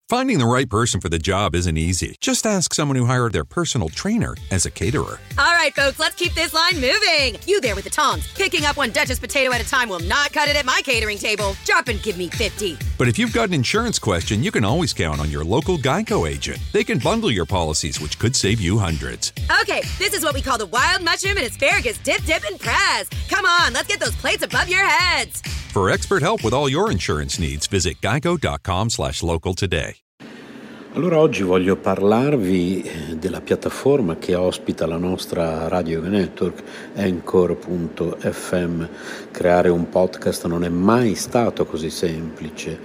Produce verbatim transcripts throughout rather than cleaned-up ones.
Finding the right person for the job isn't easy. Just ask someone who hired their personal trainer as a caterer. All right, folks, let's keep this line moving. You there with the tongs. Picking up one Duchess potato at a time will not cut it at my catering table. Drop and give me fifty. But if you've got an insurance question, you can always count on your local Geico agent. They can bundle your policies, which could save you hundreds. Okay, this is what we call the wild mushroom and asparagus dip, dip, and press. Come on, let's get those plates above your heads. For expert help with all your insurance needs, visit geico.com slash local today. Allora oggi voglio parlarvi della piattaforma che ospita la nostra Radio Network, Anchor punto effe emme. Creare un podcast non è mai stato così semplice.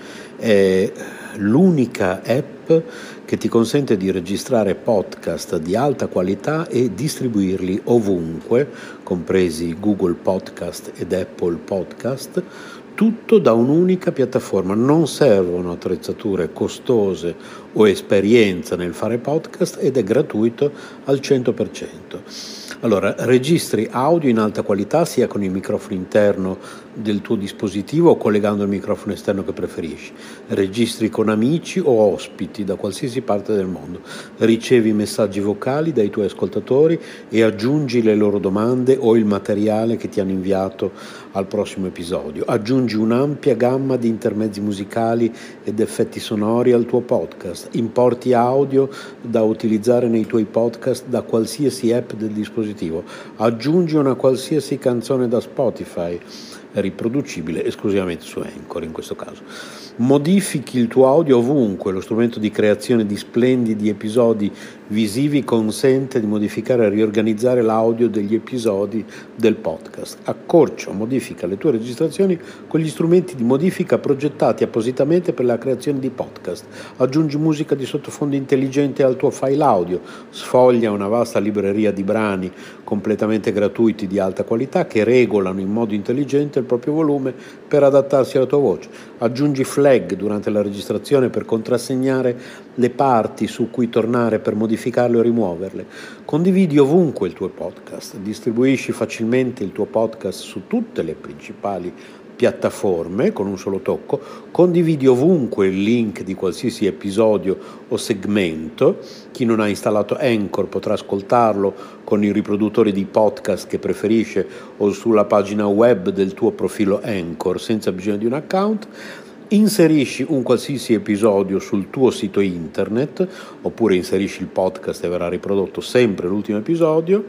È l'unica app che ti consente di registrare podcast di alta qualità e distribuirli ovunque, compresi Google Podcast ed Apple Podcast, tutto da un'unica piattaforma. Non servono attrezzature costose o esperienza nel fare podcast ed è gratuito al cento per cento. Allora, registri audio in alta qualità sia con il microfono interno del tuo dispositivo o collegando il microfono esterno che preferisci. Registri con amici o ospiti da qualsiasi parte del mondo. Ricevi messaggi vocali dai tuoi ascoltatori e aggiungi le loro domande o il materiale che ti hanno inviato al prossimo episodio. Aggiungi un'ampia gamma di intermezzi musicali ed effetti sonori al tuo podcast. Importi audio da utilizzare nei tuoi podcast da qualsiasi app del dispositivo. Aggiungi una qualsiasi canzone da Spotify, riproducibile esclusivamente su Anchor in questo caso. Modifichi il tuo audio ovunque. Lo strumento di creazione di splendidi episodi visivi consente di modificare e riorganizzare l'audio degli episodi del podcast. Accorcia o modifica le tue registrazioni con gli strumenti di modifica progettati appositamente per la creazione di podcast. Aggiungi musica di sottofondo intelligente al tuo file audio. Sfoglia una vasta libreria di brani completamente gratuiti di alta qualità che regolano in modo intelligente il proprio volume per adattarsi alla tua voce. Aggiungi flag durante la registrazione per contrassegnare le parti su cui tornare per modificarle o rimuoverle. Condividi ovunque il tuo podcast. Distribuisci facilmente il tuo podcast su tutte le principali piattaforme con un solo tocco. Condividi ovunque il link di qualsiasi episodio o segmento. Chi non ha installato Anchor potrà ascoltarlo con i riproduttori di podcast che preferisce o sulla pagina web del tuo profilo Anchor senza bisogno di un account. Inserisci un qualsiasi episodio sul tuo sito internet oppure inserisci il podcast e verrà riprodotto sempre l'ultimo episodio.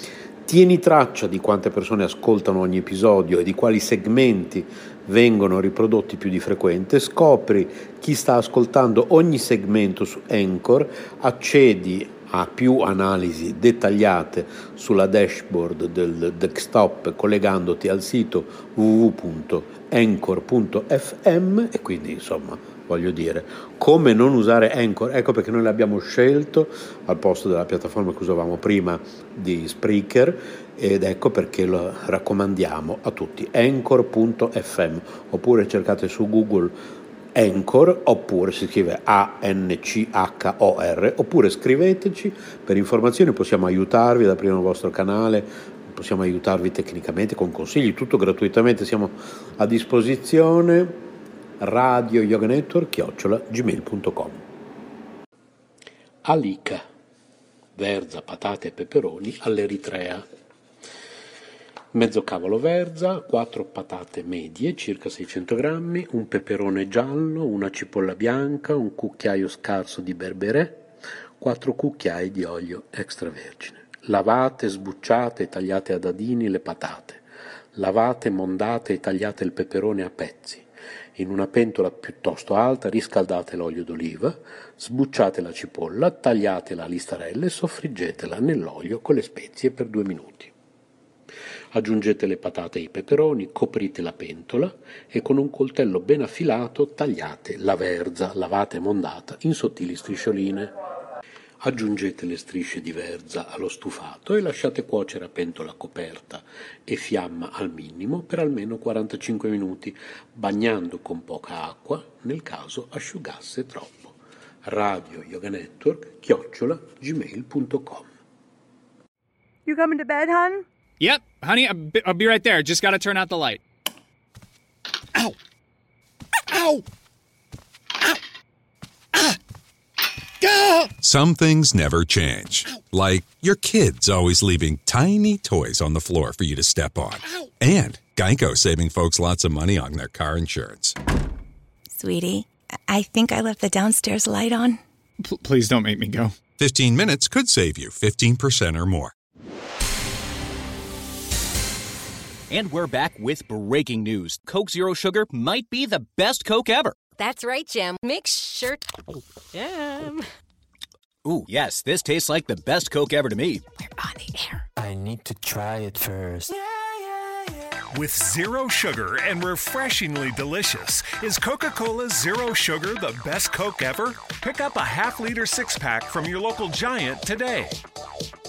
Tieni traccia di quante persone ascoltano ogni episodio e di quali segmenti vengono riprodotti più di frequente. Scopri chi sta ascoltando ogni segmento su Anchor, accedi a più analisi dettagliate sulla dashboard del desktop collegandoti al sito w w w punto anchor punto effe emme e quindi insomma voglio dire come non usare Anchor. Ecco perché noi l'abbiamo scelto al posto della piattaforma che usavamo prima di Spreaker ed ecco perché lo raccomandiamo a tutti. Anchor punto effe emme oppure cercate su Google Anchor oppure si scrive A N C H O R oppure scriveteci per informazioni, possiamo aiutarvi ad aprire il vostro canale, possiamo aiutarvi tecnicamente con consigli, tutto gratuitamente, siamo a disposizione. Radio Yoga Network chiocciola gmail punto com. Alica, verza, patate e peperoni all'Eritrea. Mezzo cavolo verza, quattro patate medie, circa seicento grammi, un peperone giallo, una cipolla bianca, un cucchiaio scarso di berberè, quattro cucchiai di olio extravergine. Lavate, sbucciate e tagliate a dadini le patate. Lavate, mondate e tagliate il peperone a pezzi. In una pentola piuttosto alta riscaldate l'olio d'oliva, sbucciate la cipolla, tagliatela a listarelle e soffriggetela nell'olio con le spezie per due minuti. Aggiungete le patate e i peperoni, coprite la pentola e con un coltello ben affilato tagliate la verza, lavata e mondata, in sottili striscioline. Aggiungete le strisce di verza allo stufato e lasciate cuocere a pentola coperta e fiamma al minimo per almeno quarantacinque minuti, bagnando con poca acqua nel caso asciugasse troppo. Radio Yoga Network chiocciola gmail punto com. You coming to bed, hon? Yep, honey, I'll be, I'll be right there. Just gotta turn out the light. Ow! Ow! Ow! Ah! Some things never change. Like your kids always leaving tiny toys on the floor for you to step on. And Geico saving folks lots of money on their car insurance. Sweetie, I think I left the downstairs light on. P- please don't make me go. fifteen minutes could save you fifteen percent or more. And we're back with breaking news. Coke Zero Sugar might be the best Coke ever. That's right, Jim. Make sure... Jim... Ooh, yes, this tastes like the best Coke ever to me. We're on the air. I need to try it first. Yeah, yeah, yeah. With zero sugar and refreshingly delicious, is Coca-Cola Zero Sugar the best Coke ever? Pick up a half-liter six-pack from your local Giant today.